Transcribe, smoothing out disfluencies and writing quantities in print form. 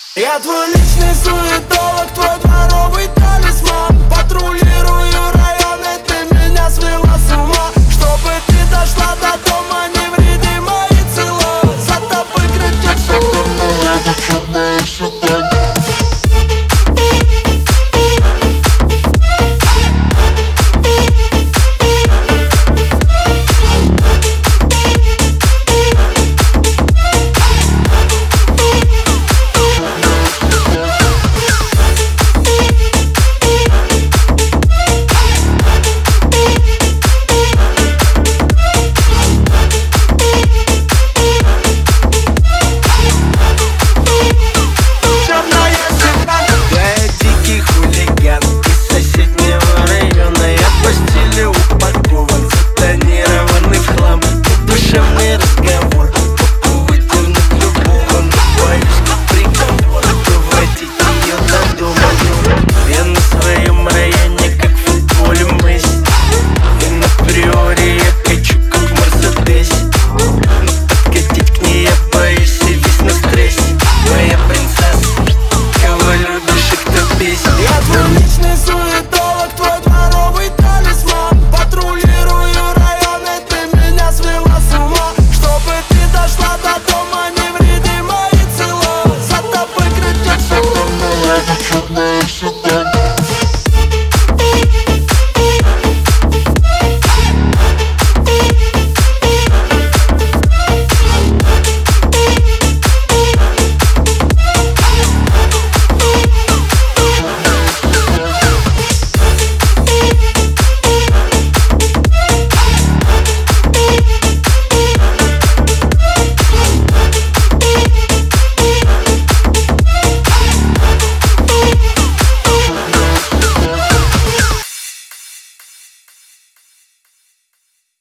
Я твой личный суетолог, твой дворовый талисман. Патрулирую районы, ты меня свела с ума. Чтобы ты дошла до дома невредима и цела. За тобой кричат, что ты